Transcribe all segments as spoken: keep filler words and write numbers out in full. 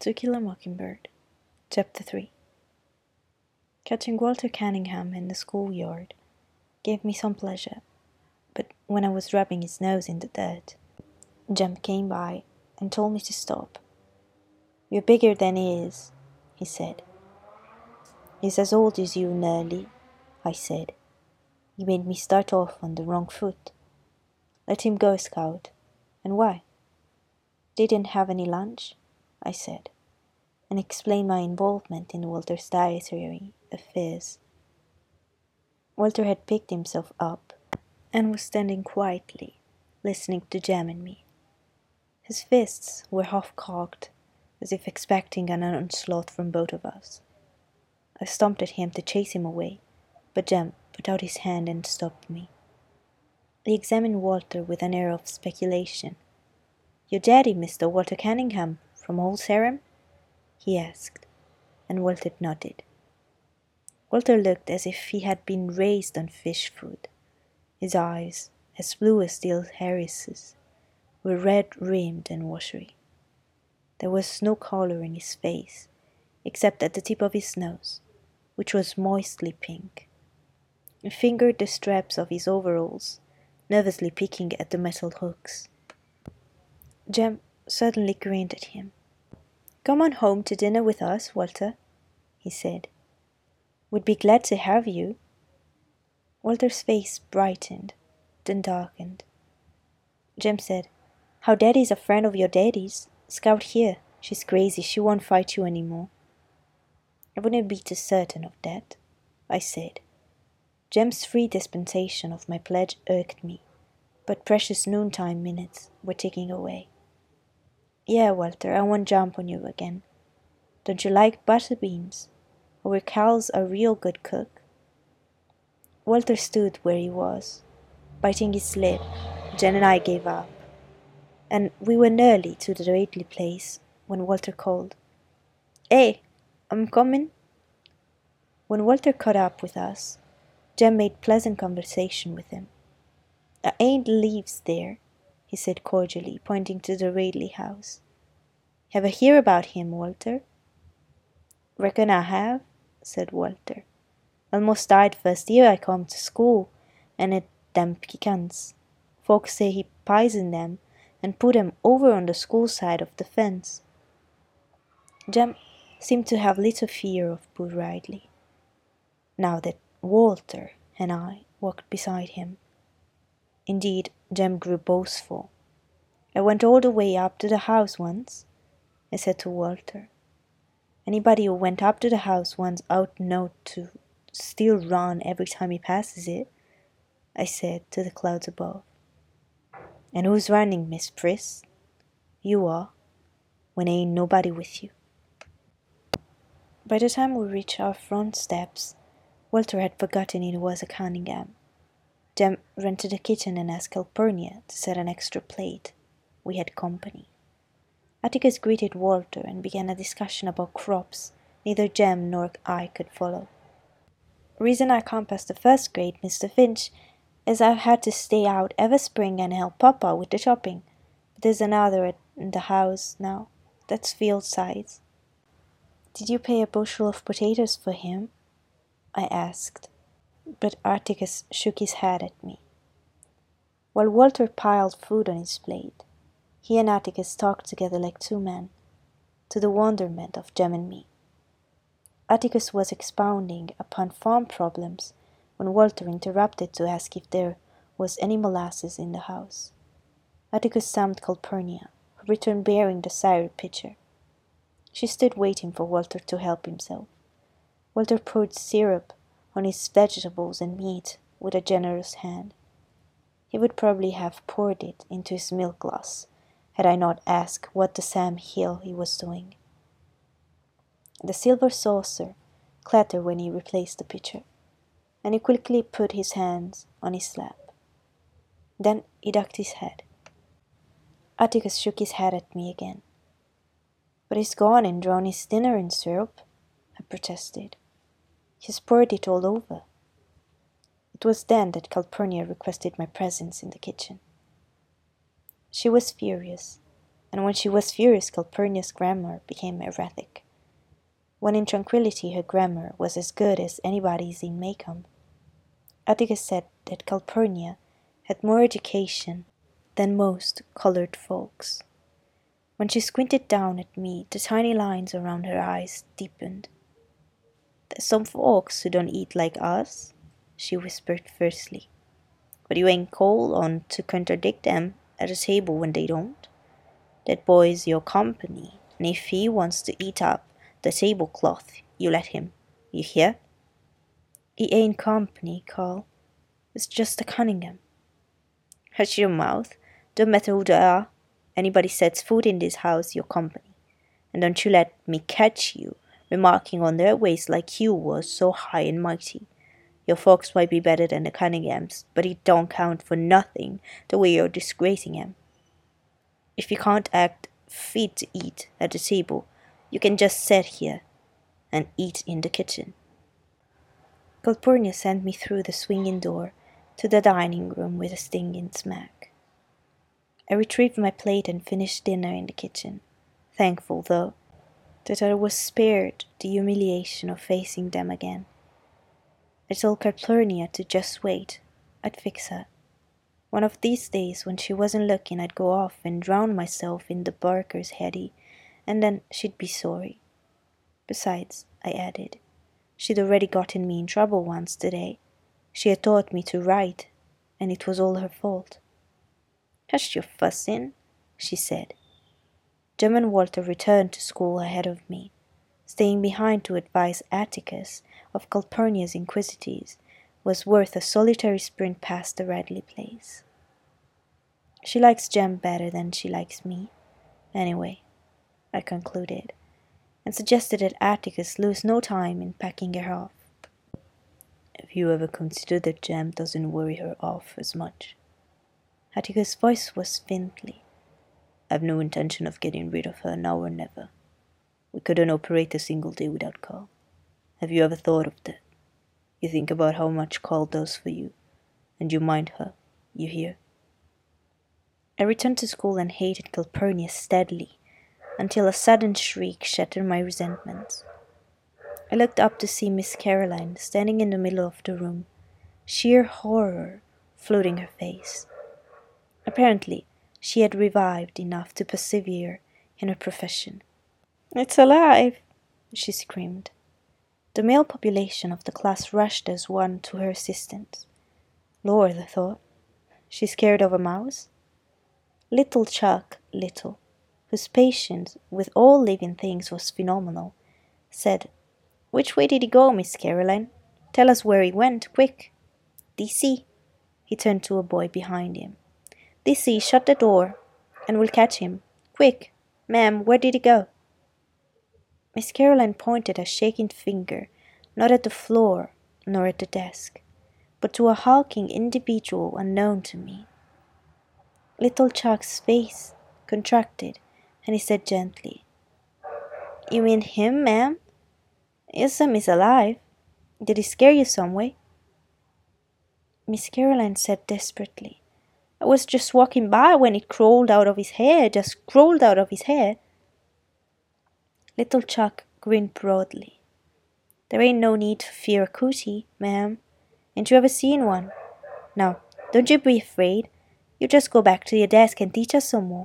To Kill a Mockingbird, Chapter three. Catching Walter Cunningham in the schoolyard gave me some pleasure, but when I was rubbing his nose in the dirt, Jem came by and told me to stop. "You're bigger than he is," he said. "He's as old as you, nearly," I said. "He made me start off on the wrong foot." "Let him go, Scout." "And why?" "They didn't have any lunch," I said, and explained my involvement in Walter's dietary affairs. Walter had picked himself up and was standing quietly, listening to Jem and me. His fists were half-cocked, as if expecting an onslaught from both of us. I stomped at him to chase him away, but Jem put out his hand and stopped me. He examined Walter with an air of speculation. "Your daddy, Mister Walter Cunningham, from Old Sarum?" he asked, and Walter nodded. Walter looked as if he had been raised on fish food. His eyes, as blue as Steel Harris's, were red-rimmed and watery. There was no color in his face, except at the tip of his nose, which was moistly pink. He fingered the straps of his overalls, nervously picking at the metal hooks. Jem suddenly grinned at him. "Come on home to dinner with us, Walter," he said. "We'd be glad to have you." Walter's face brightened, then darkened. Jem said, "How Daddy's a friend of your daddy's. Scout here. She's crazy. She won't fight you any more." "I wouldn't be too certain of that," I said. Jem's free dispensation of my pledge irked me, but precious noontime minutes were ticking away. "Yeah, Walter, I won't jump on you again. Don't you like butter beans? Our Cal's a real good cook." Walter stood where he was, biting his lip. Jen and I gave up, and we were nearly to the Radley place when Walter called, "Hey, I'm coming." When Walter caught up with us, Jem made pleasant conversation with him. "I ain't lives there," he said cordially, pointing to the Radley house. "Have a hear about him, Walter?" "Reckon I have," said Walter. "Almost died first year I come to school, and it them pecans. Folks say he poisoned them and put them over on the school side of the fence." Jem seemed to have little fear of poor Ridley, now that Walter and I walked beside him. Indeed, Jem grew boastful. "I went all the way up to the house once," I said to Walter. "Anybody who went up to the house once ought to know to still run every time he passes it," I said to the clouds above. "And who's running, Miss Priss?" "You are, when ain't nobody with you." By the time we reached our front steps, Walter had forgotten it was a Cunningham. Jem ran to the kitchen and asked Calpurnia to set an extra plate. We had company. Atticus greeted Walter and began a discussion about crops neither Jem nor I could follow. "Reason I can't pass the first grade, Mister Finch, is I've had to stay out every spring and help Papa with the chopping. But there's another at the house now. That's field size." "Did you pay a bushel of potatoes for him?" I asked, but Atticus shook his head at me. While Walter piled food on his plate, he and Atticus talked together like two men, to the wonderment of Jem and me. Atticus was expounding upon farm problems when Walter interrupted to ask if there was any molasses in the house. Atticus summoned Calpurnia, who returned bearing the syrup pitcher. She stood waiting for Walter to help himself. Walter poured syrup on his vegetables and meat with a generous hand. He would probably have poured it into his milk glass had I not asked what the Sam Hill he was doing. The silver saucer clattered when he replaced the pitcher, and he quickly put his hands on his lap. Then he ducked his head. Atticus shook his head at me again. "But he's gone and drowned his dinner in syrup," I protested. "He's poured it all over." It was then that Calpurnia requested my presence in the kitchen. She was furious. and when she was furious Calpurnia's grammar became erratic. When in tranquillity her grammar was as good as anybody's in Maycomb. Atticus said that Calpurnia had more education than most coloured folks. When she squinted down at me, the tiny lines around her eyes deepened. "There's some folks who don't eat like us," she whispered fiercely. "But you ain't called on to contradict them at a table when they don't. That boy's your company, and if he wants to eat up the tablecloth, you let him. You hear?" "He ain't company, Carl. It's just a Cunningham." "Hush your mouth. Don't matter who they are. Anybody sets foot in this house, your company. And don't you let me catch you remarking on their ways like you was so high and mighty. Your folks might be better than the Cunninghams, but it don't count for nothing the way you're disgracing 'em. If you can't act fit to eat at the table, you can just sit here and eat in the kitchen." Calpurnia sent me through the swinging door to the dining room with a stinging smack. I retrieved my plate and finished dinner in the kitchen, thankful, though, that I was spared the humiliation of facing them again. I told Calpurnia to just wait. I'd fix her. One of these days, when she wasn't looking, I'd go off and drown myself in the Barker's heady, and then she'd be sorry. Besides, I added, she'd already gotten me in trouble once today. She had taught me to write, and it was all her fault. "Hush your fussing," she said. Jem and Walter returned to school ahead of me, staying behind to advise Atticus of Calpurnia's inquisitives was worth a solitary sprint past the Radley place. She likes Jem better than she likes me, anyway, I concluded, and suggested that Atticus lose no time in packing her off. "Have you ever considered that Jem doesn't worry her off as much?" Atticus' voice was faintly. "I've no intention of getting rid of her now or never. We couldn't operate a single day without Carl. Have you ever thought of that? You think about how much Carl does for you, and you mind her, you hear?" I returned to school and hated Calpurnia steadily, until a sudden shriek shattered my resentment. I looked up to see Miss Caroline standing in the middle of the room, sheer horror flooding her face. Apparently, she had revived enough to persevere in her profession. "It's alive!" she screamed. The male population of the class rushed as one to her assistance. Lord, I thought, she's scared of a mouse? Little Chuck Little, whose patience with all living things was phenomenal, said, "Which way did he go, Miss Caroline? Tell us where he went, quick. D C, he turned to a boy behind him. "D C, shut the door, and we'll catch him. Quick, ma'am, where did he go?" Miss Caroline pointed a shaking finger, not at the floor nor at the desk, but to a hulking individual unknown to me. Little Chuck's face contracted, and he said gently, "You mean him, ma'am? Yes'm, he's alive. Did he scare you some way?" Miss Caroline said desperately, "I was just walking by when it crawled out of his hair, just crawled out of his hair." Little Chuck grinned broadly. "There ain't no need to fear a cootie, ma'am. Ain't you ever seen one? Now, don't you be afraid. You just go back to your desk and teach us some more."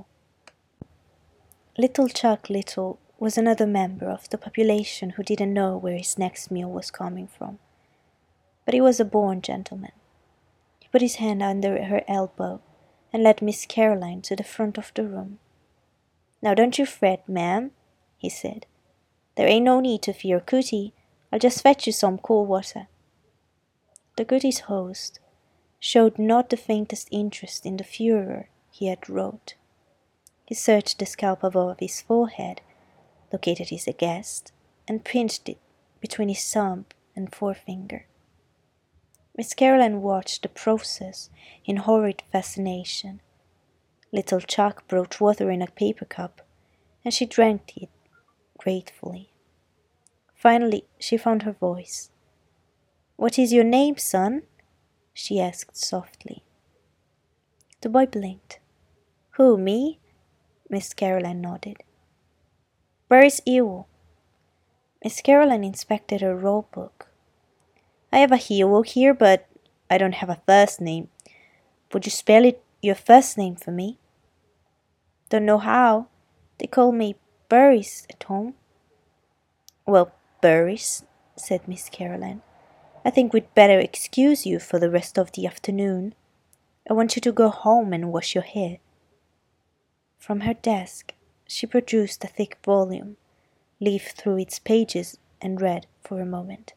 Little Chuck Little was another member of the population who didn't know where his next meal was coming from. But he was a born gentleman. He put his hand under her elbow and led Miss Caroline to the front of the room. "Now don't you fret, ma'am," he said. "There ain't no need to fear cootie. I'll just fetch you some cool water." The goodie's host showed not the faintest interest in the furor he had wrought. He searched the scalp above his forehead, located his guest, and pinched it between his thumb and forefinger. Miss Caroline watched the process in horrid fascination. Little Chuck brought water in a paper cup, and she drank it gratefully. Finally, she found her voice. "What is your name, son?" she asked softly. The boy blinked. "Who, me? Miss Caroline nodded. Where's Ewell? Miss Caroline inspected her roll book. I have a Ewell here, but I don't have a first name. Would you spell it your first name for me? Don't know how. They call me Burris at home. Well, Burris, said Miss Caroline, I think we'd better excuse you for the rest of the afternoon. I want you to go home and wash your hair. From her desk, she produced a thick volume, leafed through its pages, and read for a moment.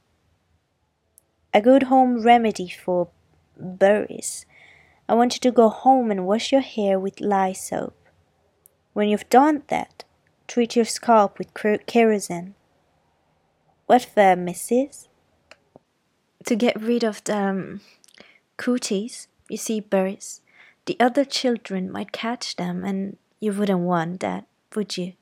A good home remedy for Burris. I want you to go home and wash your hair with lye soap. When you've done that, treat your scalp with kerosene. What for, missus? To get rid of the um, cooties, you see, Burris. The other children might catch them, and you wouldn't want that, would you?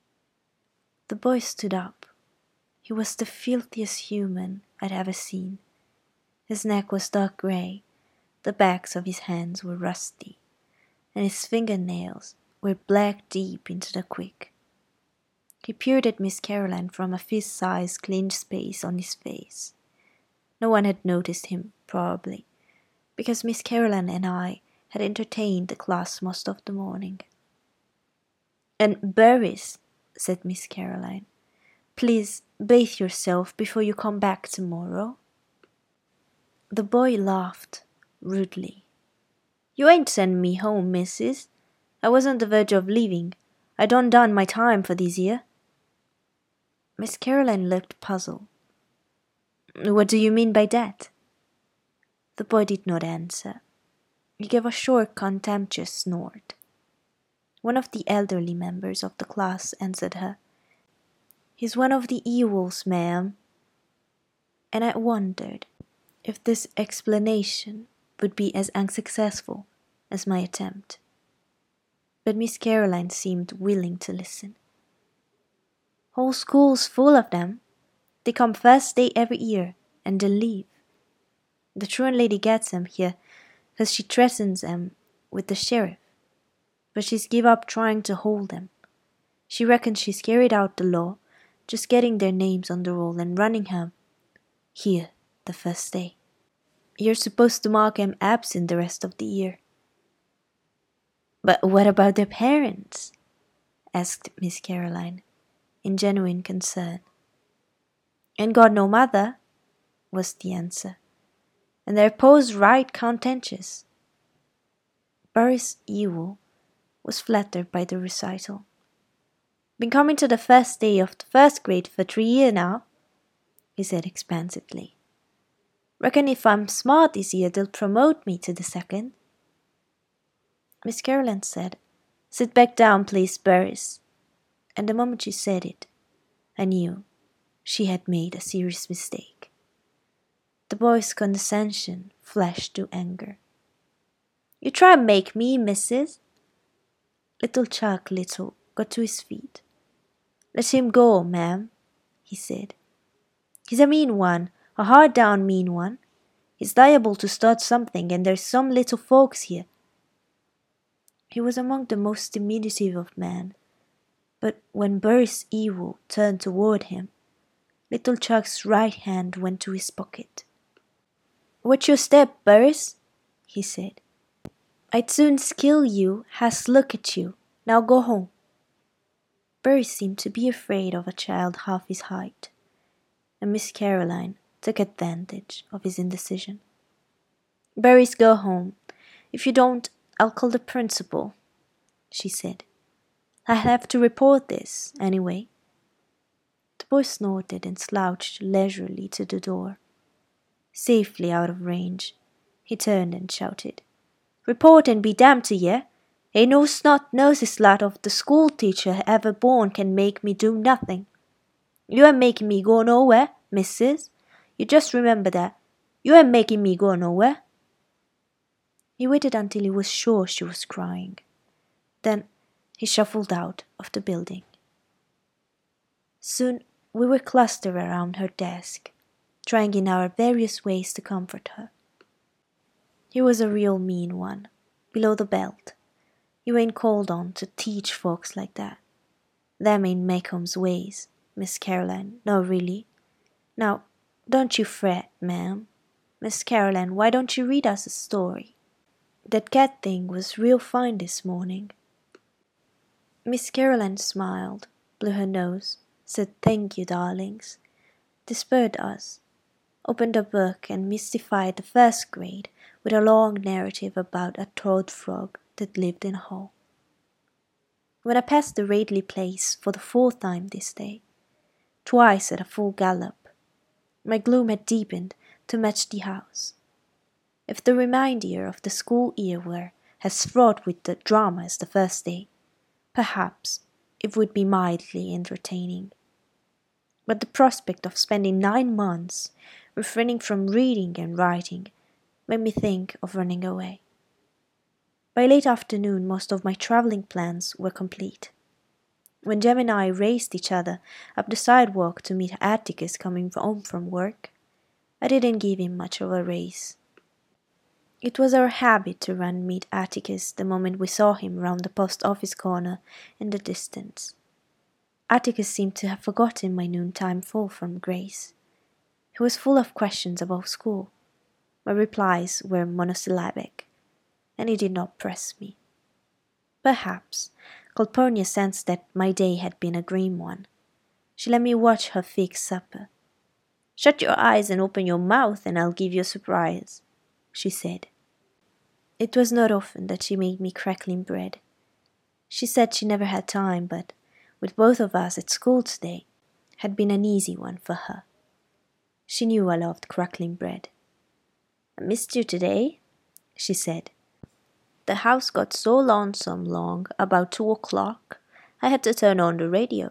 The boy stood up. He was the filthiest human I'd ever seen. His neck was dark grey, the backs of his hands were rusty, and his fingernails were black deep into the quick. He peered at Miss Caroline from a fist-sized clenched space on his face. No one had noticed him, probably, because Miss Caroline and I had entertained the class most of the morning. And Burris, said Miss Caroline, please bathe yourself before you come back tomorrow. The boy laughed rudely. You ain't send me home, missus. I was on the verge of leaving. I done done my time for this year. Miss Caroline looked puzzled. What do you mean by that? The boy did not answer. He gave a short, contemptuous snort. One of the elderly members of the class answered her. He's one of the Ewells, ma'am. And I wondered if this explanation would be as unsuccessful as my attempt. But Miss Caroline seemed willing to listen. Whole school's full of them. They come first day every year, and then leave. The truant lady gets them here, cause she threatens them with the sheriff. But she's give up trying to hold them. She reckons she's carried out the law, just getting their names on the roll and running 'em here the first day. You're supposed to mark 'em absent the rest of the year. But what about their parents? Asked Miss Caroline, in genuine concern. Ain't got no mother, was the answer, and their pa's right contentious. Burris Ewell was flattered by the recital. Been coming to the first day of the first grade for three years now, he said expansively. Reckon if I'm smart this year they'll promote me to the second. Miss Caroline said, Sit back down, please, Burris. And the moment she said it, I knew she had made a serious mistake. The boy's condescension flashed to anger. You try and make me, missus. Little Chuck Little got to his feet. Let him go, ma'am, he said. He's a mean one, a hard-down mean one. He's liable to start something, and there's some little folks here. He was among the most diminutive of men, but when Burris Ewell turned toward him, little Chuck's right hand went to his pocket. Watch your step, Burris, he said. I'd soon skill you, has look at you. Now go home. Burris seemed to be afraid of a child half his height, and Miss Caroline took advantage of his indecision. Burris, go home. If you don't, I'll call the principal, she said. I'll have to report this, anyway. The boy snorted and slouched leisurely to the door. Safely out of range, he turned and shouted, Report and be damned to ye! Ain't no snot-nosed lad of the school-teacher ever born can make me do nothing. You ain't making me go nowhere, missus. You just remember that. You ain't making me go nowhere. He waited until he was sure she was crying. Then he shuffled out of the building. Soon we were clustered around her desk, trying in our various ways to comfort her. He was a real mean one, below the belt. You ain't called on to teach folks like that. Them ain't Macomb's ways, Miss Caroline, no really. Now, don't you fret, ma'am. Miss Caroline, why don't you read us a story? That cat thing was real fine this morning. Miss Caroline smiled, blew her nose, said thank you, darlings, dispersed us, opened a book and mystified the first grade with a long narrative about a toad frog that lived in a hole. When I passed the Radley place for the fourth time this day, twice at a full gallop, my gloom had deepened to match the house. If the remainder of the school year were as fraught with the drama as the first day, perhaps it would be mildly entertaining. But the prospect of spending nine months refraining from reading and writing made me think of running away. By late afternoon, most of my travelling plans were complete. When Jem and I raced each other up the sidewalk to meet Atticus coming home from work, I didn't give him much of a race. It was our habit to run meet Atticus the moment we saw him round the post office corner in the distance. Atticus seemed to have forgotten my noontime fall from grace. He was full of questions about school. My replies were monosyllabic, and he did not press me. Perhaps Calpurnia sensed that my day had been a grim one. She let me watch her fix supper. "Shut your eyes and open your mouth, and I'll give you a surprise," she said. It was not often that she made me crackling bread. She said she never had time, but with both of us at school today, had been an easy one for her. She knew I loved crackling bread. "I missed you today," she said. "The house got so lonesome long about two o'clock, I had to turn on the radio."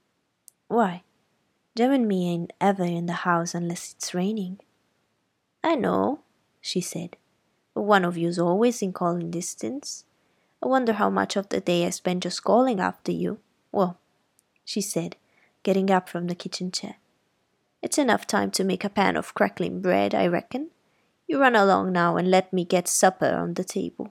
"Why? Jem and me ain't ever in the house unless it's raining." "I know," she said, "but one of you's always in calling distance. I wonder how much of the day I spend just calling after you. Well," she said, getting up from the kitchen chair, "it's enough time to make a pan of crackling bread, I reckon. You run along now and let me get supper on the table."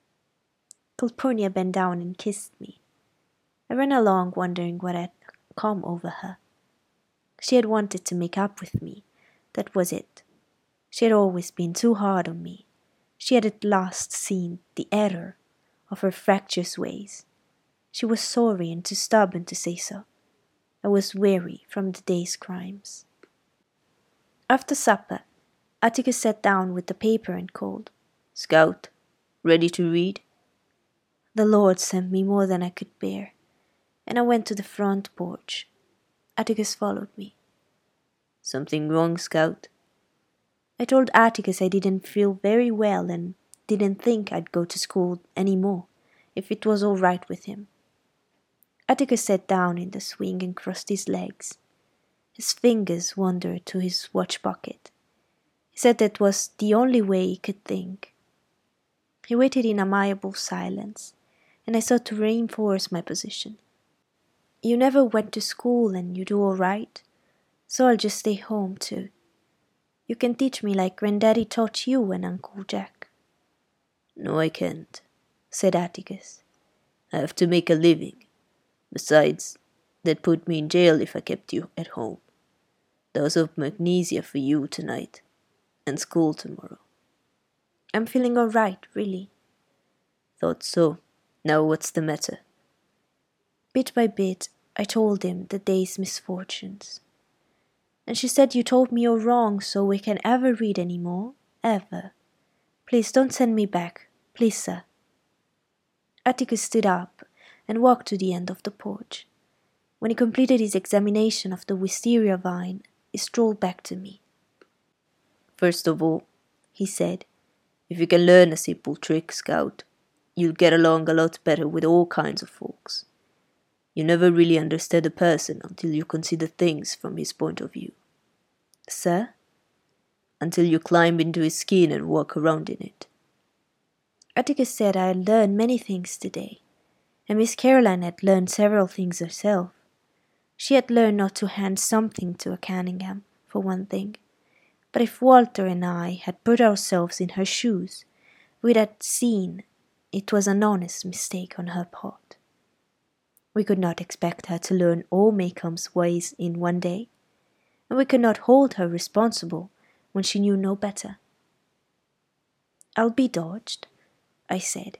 Calpurnia bent down and kissed me. I ran along wondering what had come over her. She had wanted to make up with me, that was it. She had always been too hard on me. She had at last seen the error of her fractious ways. She was sorry and too stubborn to say so. I was weary from the day's crimes. After supper, Atticus sat down with the paper and called, "Scout, ready to read?" The Lord sent me more than I could bear, and I went to the front porch. Atticus followed me. "Something wrong, Scout?" I told Atticus I didn't feel very well and didn't think I'd go to school any more, if it was all right with him. Atticus sat down in the swing and crossed his legs. His fingers wandered to his watch pocket. He said that was the only way he could think. He waited in amiable silence, and I sought to reinforce my position. "You never went to school and you do all right, so I'll just stay home too. You can teach me like Granddaddy taught you and Uncle Jack." "No, I can't," said Atticus. "I have to make a living. Besides, they'd put me in jail if I kept you at home. Dose of magnesia for you tonight, and school tomorrow." "I'm feeling all right, really." "Thought so. Now what's the matter?" Bit by bit, I told him the day's misfortunes. "And she said you told me you're wrong, so we can ever read any more, ever. Please don't send me back, please, sir." Atticus stood up and walked to the end of the porch. When he completed his examination of the wisteria vine, he strolled back to me. "First of all," he said, "if you can learn a simple trick, Scout, you'll get along a lot better with all kinds of folks. You never really understand a person until you consider things from his point of view." "Sir?" "Until you climb into his skin and walk around in it." Atticus said I had learned many things today, and Miss Caroline had learned several things herself. She had learned not to hand something to a Canningham, for one thing, but if Walter and I had put ourselves in her shoes, we'd have seen it was an honest mistake on her part. We could not expect her to learn all Maycomb's ways in one day, and we could not hold her responsible when she knew no better. "I'll be dodged," I said.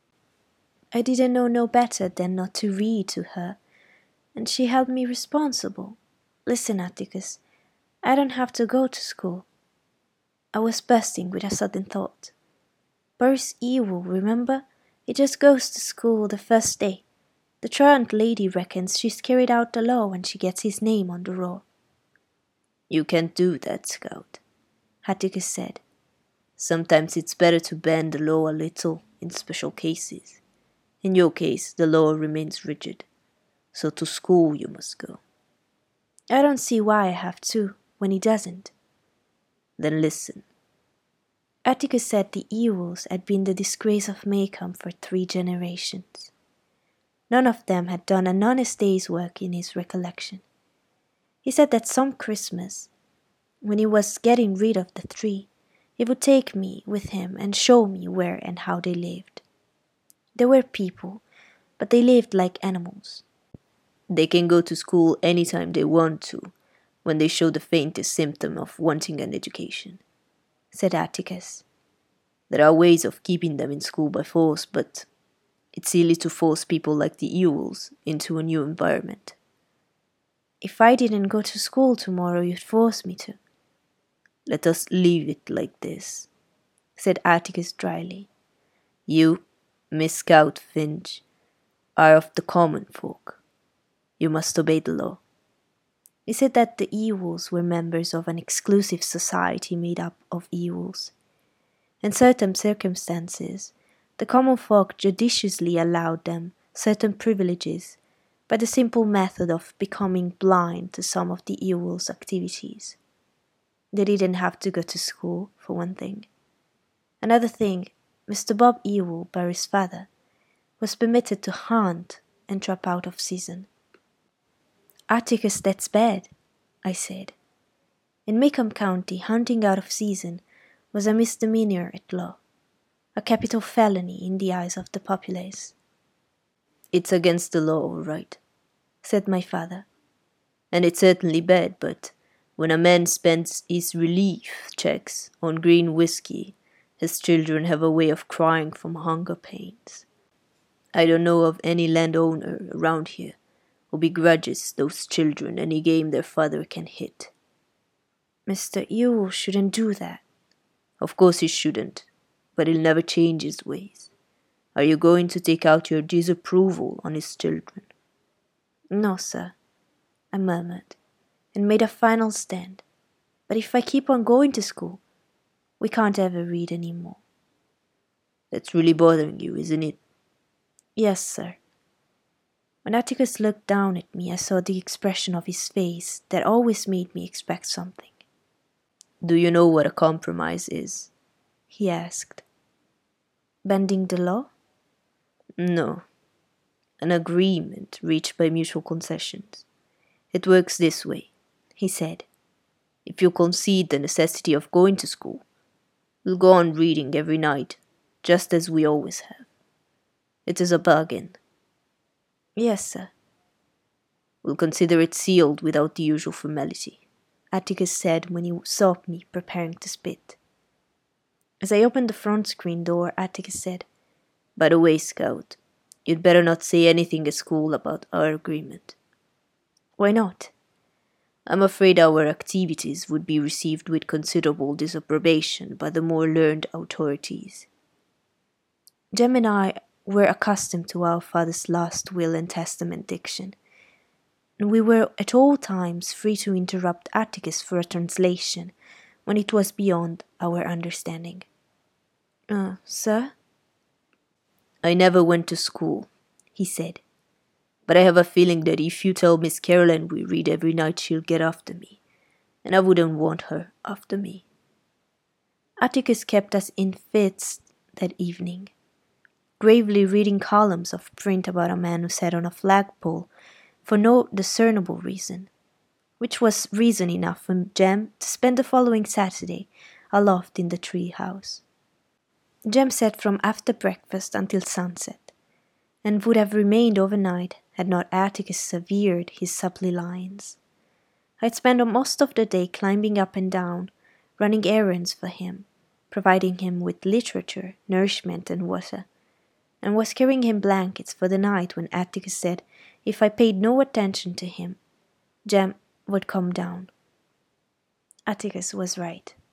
I didn't know no better than not to read to her, and she held me responsible. Listen, Atticus, I don't have to go to school. I was bursting with a sudden thought. Boris Ewell, remember? He just goes to school the first day. The truant lady reckons she's carried out the law when she gets his name on the roll. "You can't do that, Scout," Atticus said. "Sometimes it's better to bend the law a little in special cases. In your case, the law remains rigid, so to school you must go." "I don't see why I have to, when he doesn't." "Then listen." Atticus said the Ewells had been the disgrace of Maycomb for three generations. None of them had done an honest day's work in his recollection. He said that some Christmas, when he was getting rid of the three, he would take me with him and show me where and how they lived. They were people, but they lived like animals. "They can go to school any time they want to, when they show the faintest symptom of wanting an education," said Atticus. "There are ways of keeping them in school by force, but it's silly to force people like the Ewells into a new environment." "If I didn't go to school tomorrow, you'd force me to." "Let us leave it like this," said Atticus dryly. "You, Miss Scout Finch, are of the common folk. You must obey the law." He said that the Ewells were members of an exclusive society made up of Ewells. In certain circumstances, the common folk judiciously allowed them certain privileges by the simple method of becoming blind to some of the Ewells' activities. They didn't have to go to school, for one thing. Another thing, Mister Bob Ewell, Barry's father, was permitted to hunt and trap out of season. "Atticus, that's bad," I said. In Maycomb County, hunting out of season was a misdemeanor at law, a capital felony in the eyes of the populace. "It's against the law, all right," said my father. "And it's certainly bad, but when a man spends his relief checks on green whiskey, his children have a way of crying from hunger pains. I don't know of any landowner around here who begrudges those children any game their father can hit." "Mister Ewell shouldn't do that." "Of course he shouldn't, but he'll never change his ways. Are you going to take out your disapproval on his children?" "No, sir," I murmured, and made a final stand. "But if I keep on going to school, we can't ever read any more." "That's really bothering you, isn't it?" "Yes, sir." When Atticus looked down at me, I saw the expression of his face that always made me expect something. "Do you know what a compromise is?" he asked. "Bending the law?" "No. An agreement reached by mutual concessions. It works this way," he said. "If you concede the necessity of going to school, we'll go on reading every night, just as we always have. It is a bargain." "Yes, sir." "We'll consider it sealed without the usual formality," Atticus said when he saw me preparing to spit. As I opened the front screen door, Atticus said, "By the way, Scout, you'd better not say anything at school about our agreement." "Why not?" "I'm afraid our activities would be received with considerable disapprobation by the more learned authorities." Jem and I were accustomed to our father's last will and testament diction, and we were at all times free to interrupt Atticus for a translation when it was beyond our understanding. Uh, sir?" "I never went to school," he said, "but I have a feeling that if you tell Miss Caroline we read every night, she'll get after me, and I wouldn't want her after me." Atticus kept us in fits that evening, gravely reading columns of print about a man who sat on a flagpole for no discernible reason, which was reason enough for Jem to spend the following Saturday aloft in the tree house. Jem sat from after breakfast until sunset, and would have remained overnight had not Atticus severed his supply lines. I'd spent most of the day climbing up and down, running errands for him, providing him with literature, nourishment, and water, and was carrying him blankets for the night when Atticus said if I paid no attention to him, Jem would come down. Atticus was right.